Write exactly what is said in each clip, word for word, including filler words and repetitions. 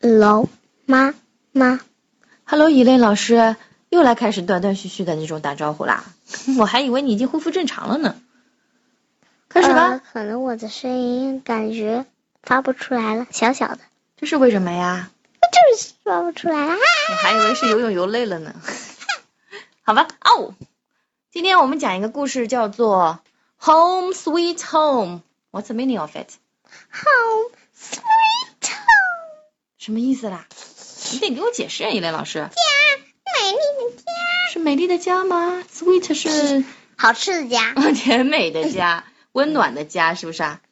Hello， 妈妈。 Hello， 伊蕾老师，又来开始断断续续的那种打招呼啦。我还以为你已经恢复正常了呢。开始吧。 呃、可能我的声音感觉发不出来了，小小的。 这是为什么呀？ 就是发不出来了。 我还以为是游泳游累了呢。好吧，哦，今天我们讲一个故事，叫做 Home Sweet Home。What's the meaning of it? Home Sweet Home。 什么意思啦？你得给我解释啊，伊蕾老师。 家，美丽的家。 是美丽的家吗 ？Sweet 是好吃的家。 甜美的家，温暖的家，是不是啊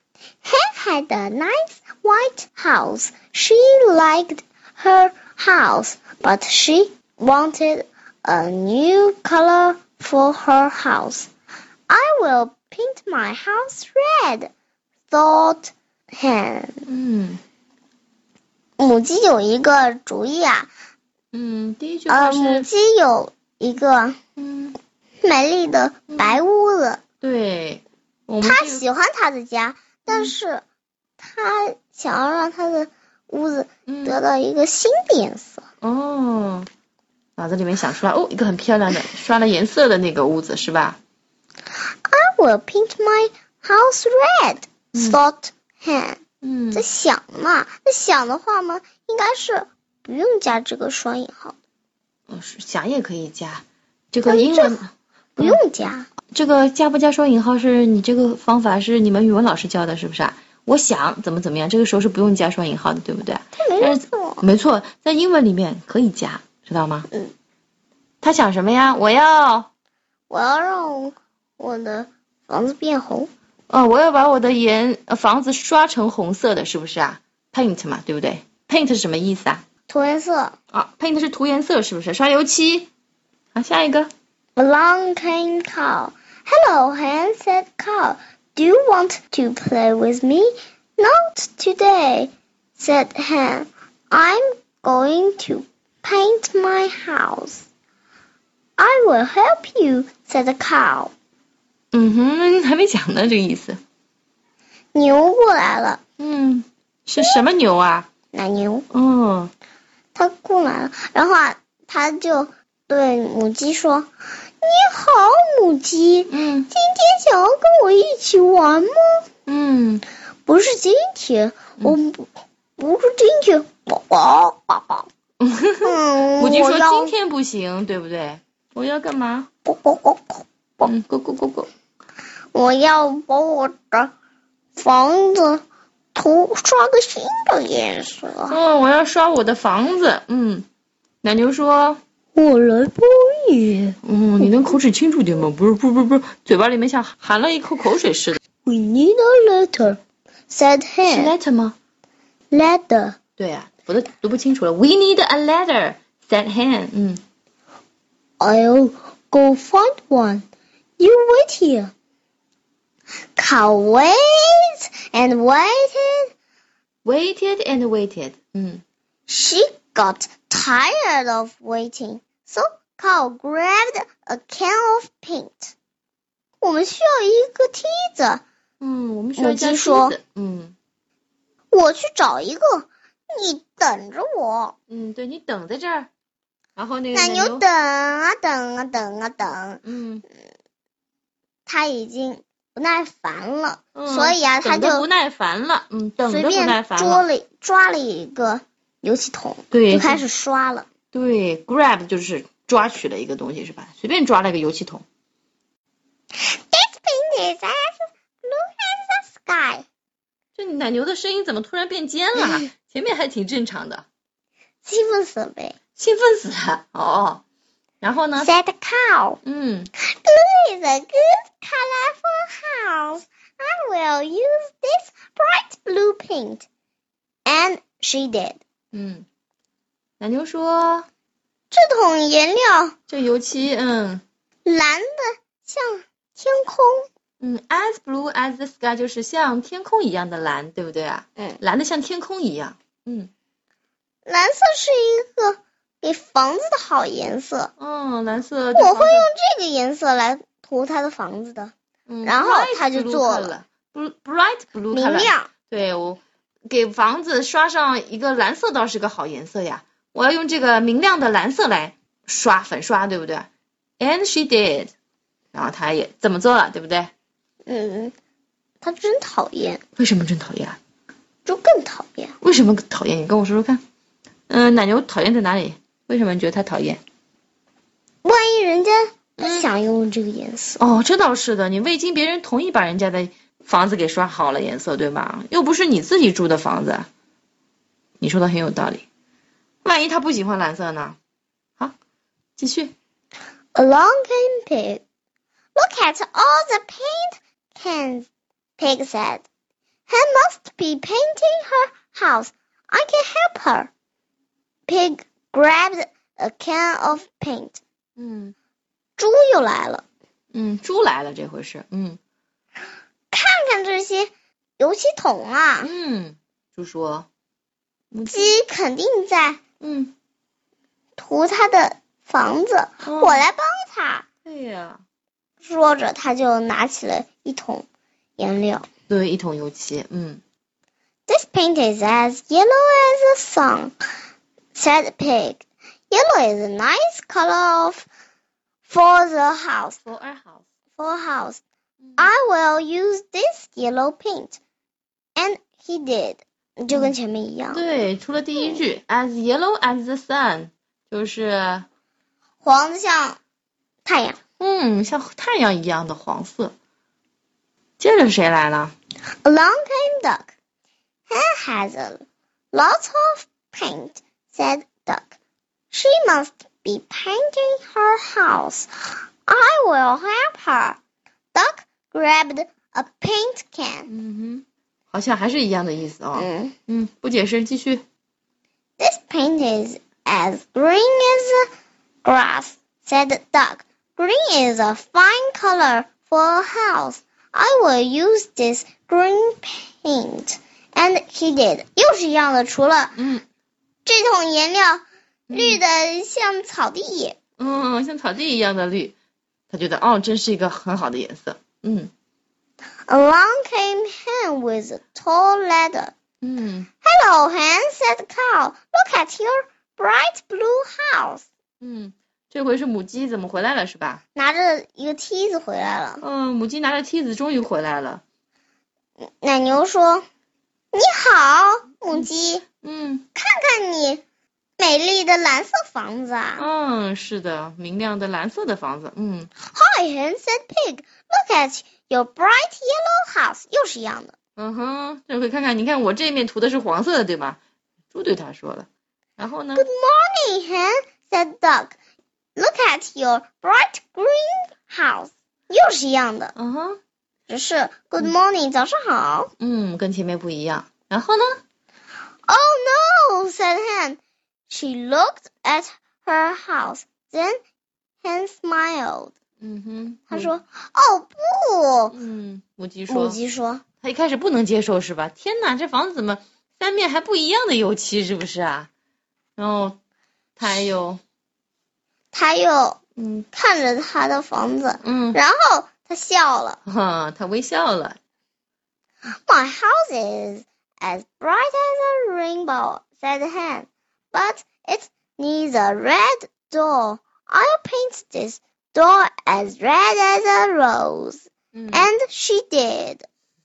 ？Had a nice white house. She liked her house, but she wanted a new color for her house. I will paint my house red, thought Hen. 嗯。 母鸡有一个主意啊。 嗯，第一句话是。 呃，母鸡有一个嗯美丽的白屋子。 嗯、对。 她喜欢她的家，但是她想要让她的屋子得到一个新的颜色。 嗯、哦，脑子里面想出来，哦，一个很漂亮的刷了颜色的那个屋子是吧 ？I will paint my house red,、嗯、thought Hen。 嗯， 在想嘛，在想的话嘛，应该是不用加这个双引号的。 哦，是想也可以加，这个英文不用加、嗯。 这个加不加双引号是你这个方法是你们语文老师教的，是不是啊？我想怎么怎么样，这个时候是不用加双引号的，对不对？ 没错， 没错，在英文里面可以加，知道吗？ 嗯。 他想什么呀？我要， 我要让我的房子变红。 哦，我要把我的颜呃房子刷成红色的，是不是啊 ？Paint 嘛，对不对 ？Paint 是什么意思啊？ 涂颜色。 啊 ，Paint 是涂颜色，是不是？刷油漆。好，下一个。 Along came cow. Hello, Hen, said cow. Do you want to play with me? Not today, said Hen. I'm going to paint my house. I will help you, said the cow. 嗯哼，还没讲呢，这个意思。 牛过来了。 嗯，是什么牛啊？ 奶牛。 哦。 它过来了，然后啊，它就对母鸡说：“你好，母鸡。 嗯。 今天想要跟我一起玩吗？” 嗯。 不是今天，我不不是今天。宝宝，宝宝。 嗯。母鸡说今天不行，对不对？我要干嘛？ 咕咕咕咕。 嗯，咕咕咕咕。 我要把我的房子涂刷个新的颜色。 哦，我要刷我的房子。嗯，奶牛说：“ 我来帮你。” 嗯，你能口齿清楚点吗？不是，不是，不是，嘴巴里面像含了一口口水似的。 We need a letter, said Hen. 是 letter 吗 ？Letter。 对呀、啊，我都读不清楚了。We need a letter, said Hen. 嗯。 I'll go find one. You wait here. Cow waited and waited. Waited and waited. 嗯。 She got tired of waiting, so Cow grabbed a can of paint. 我们需要一个梯子。 嗯，我们需要一架梯子。嗯。 我去找一个，你等着我。 嗯，对，你等在这儿。然后那个奶牛等啊等啊等啊等。 嗯。 他已经不耐烦了， 嗯、 所以啊，他就不耐烦了，嗯，等的不耐烦了， 随便抓了抓了一个油漆桶， 对， 就开始刷了。 对 ，grab 就是抓取了一个东西是吧？随便抓了一个油漆桶。 This paint is as blue as the sky. 这奶牛的声音怎么突然变尖了？前面还挺正常的。 兴奋死了呗。 兴奋死了，哦。然后呢 ？Said the cow. 嗯 Blue is a good color for house. I will use this bright blue paint. And she did. 嗯，奶牛说， 这桶颜料， 这油漆，嗯， 蓝的像天空。 嗯 ，as blue as the sky 就是像天空一样的蓝，对不对啊？ 嗯， 蓝的像天空一样。嗯， 蓝色是一个给房子的好颜色。 嗯，蓝色。 我会用这个颜色来涂他的房子的。 嗯， 然后他就做了。 bright blue 明亮。 对，我给房子刷上一个蓝色倒是个好颜色呀，我要用这个明亮的蓝色来刷粉刷，对不对？ And she did， 然后她也这么做了，对不对？ 嗯，她真讨厌。 为什么真讨厌？ 就更讨厌。 为什么讨厌？你跟我说说看。嗯，奶牛讨厌在哪里？为什么你觉得他讨厌？ 万一人家不想用这个颜色。 哦，这倒是的，你未经别人同意把人家的房子给刷好了颜色，对吧？又不是你自己住的房子。你说的很有道理。万一他不喜欢蓝色呢？好，继续。 Along came Pig. Look at all the paint cans, Pig said. Hen must be painting her house. I can help her. Pig grabbed a can of paint. 嗯， 猪又来了。 嗯，猪来了这回是。嗯， 看看这些油漆桶啊。 嗯，猪说。 鸡肯定在嗯涂他的房子， 哦、 我来帮他。 对呀。 说着，他就拿起了一桶颜料。 对，一桶油漆。嗯。 This paint is as yellow as the sun, said Pig. Yellow is a nice color of, for the house. For a house. For a house. I will use this yellow paint. And he did. 就跟前面一样。 对，除了第一句、嗯、as yellow as the sun， 就是黄的像太阳。 嗯，像太阳一样的黄色。接着谁来了？ Along came Duck. Hen has a lot of paint, said Duck. She must be painting her house. I will help her. Duck grabbed a paint can. 嗯哼，好像还是一样的意思哦。 嗯嗯，不解释，继续。 This paint is as green as grass, said Duck. Green is a fine color for a house. I will use this green paint. And he did. 又是一样的，除了嗯， 这桶颜料绿的像草地。 嗯，像草地一样的绿。他觉得哦，真是一个很好的颜色。嗯。 Along came Hen with a tall ladder. 嗯。 Hello, Hen, said Cow. Look at your bright blue house. 嗯，这回是母鸡怎么回来了是吧？ 拿着一个梯子回来了。 嗯，母鸡拿着梯子终于回来了。 奶牛说：“你好，母鸡。 嗯， 看看你美丽的蓝色房子啊。” 嗯，是的，明亮的蓝色的房子。嗯。 Hi, Hen, said Pig. Look at your bright yellow house. 又是一样的。 嗯哼，这回看看，你看我这面涂的是黄色的，对吧？猪对他说了。然后呢 ？Good morning, Hen, said Duck. Look at your bright green house. 又是一样的。 嗯哼， 只是 Good morning，、嗯、早上好。 嗯，跟前面不一样。然后呢 ？Oh no, said Hen. She looked at her house. Then Hen smiled. 嗯哼， 她说：“哦不。” 嗯，母鸡说。 母鸡说。 她一开始不能接受是吧？天哪，这房子怎么三面还不一样的油漆是不是啊？然后她又， 她又嗯看着她的房子， 嗯， 然后她笑了。 哈，她微笑了。 My house is as bright as a rainbow, said Hen, but it needs a red door. I'll paint this door as red as a rose. Mm. And she did.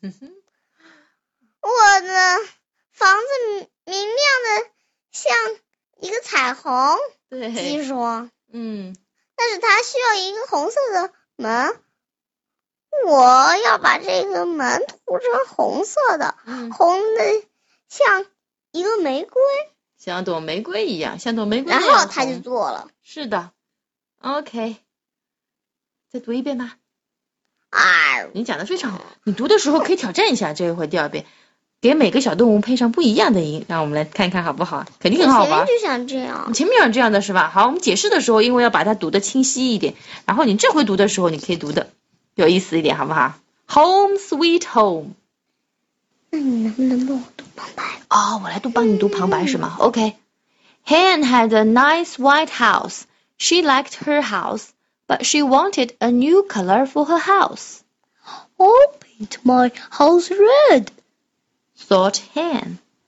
我的房子明亮的像一个彩虹， 对， 鸡说。 嗯， 但是它需要一个红色的门。我要把这个门涂成红色的， 嗯、 红的像一个玫瑰， 像朵玫瑰一样，像朵玫瑰一样。 然后他就做了。 是的 ，OK， 再读一遍吧。 啊， 你讲的非常好，你读的时候可以挑战一下，这一回第二遍，给每个小动物配上不一样的音，让我们来看看好不好？肯定很好玩。 前面就想这样。 你前面想这样的是吧？好，我们解释的时候，因为要把它读得清晰一点，然后你这回读的时候，你可以读的有意思一点，好不好 ？Home sweet home。 那你能不能帮我读旁白？ 哦，我来读帮你读旁白是吗 ？OK。Hen had a nice white house. She liked her house, but she wanted a new color for her house. I'll paint my house red, thought Hen.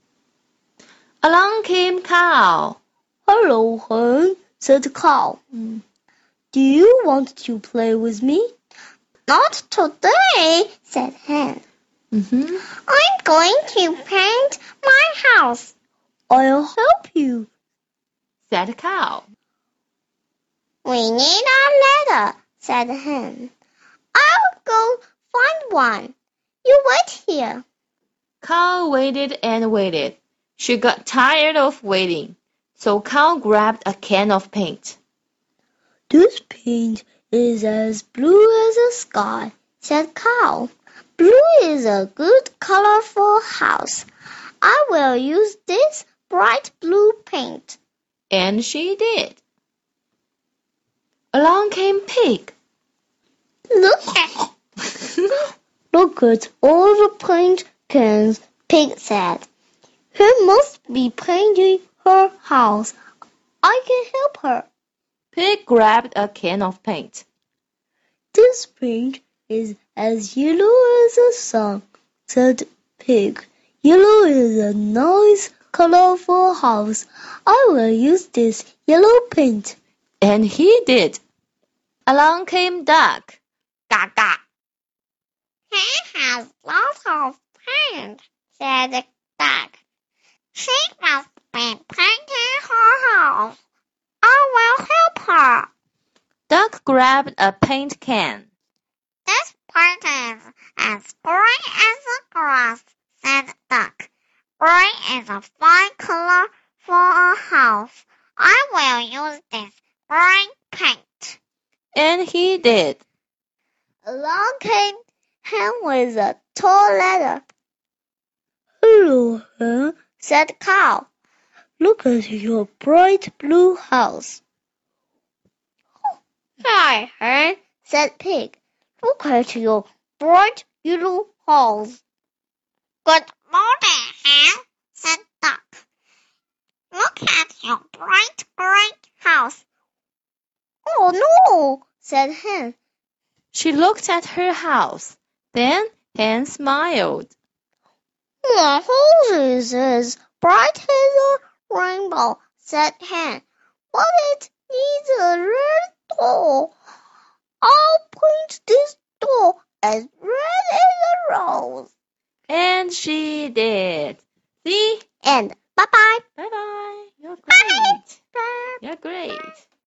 Along came Cow. Hello, hen, said the cow. Mm. Do you want to play with me? Not today, said hen. Mm-hmm. I'm going to paint my house. I'll help you, said Cow. We need a ladder, said hen. I'll go find one. You wait here. Cow waited and waited. She got tired of waiting, so Cow grabbed a can of paint. This paint is as blue as the sky, said Cow. Blue is a good color for a house. I will use this bright blue paint. And she did. Along came Pig. Look at Look at all the paint cans, Pig said. She must be painting her house. I can help her. Pig grabbed a can of paint. This paint is as yellow as the sun, said Pig. Yellow is a nice color for a house. I will use this yellow paint. And he did. Along came Duck. Gaga. He has lots of paint, said the duck. She must be painting her house. I will help her. Duck grabbed a paint can. This paint is as green as the grass, said Duck. Green is a fine color for a house. I will use this green paint. And he did. Along came Hen with a tall ladder. Hello, Hen, said Cow. Look at your bright blue house. Hi, Hen, said Pig. Look at your bright yellow house. Good morning, Hen, said Duck. Look at your bright green house. Oh no, said Hen. She looked at her house. Then Hen smiled. My house is as bright as a rainbow, said Hen. But it needs a red door. I'll paint this door as red as a rose. And she did. See? And bye-bye. Bye-bye. You're great. Bye. You're great.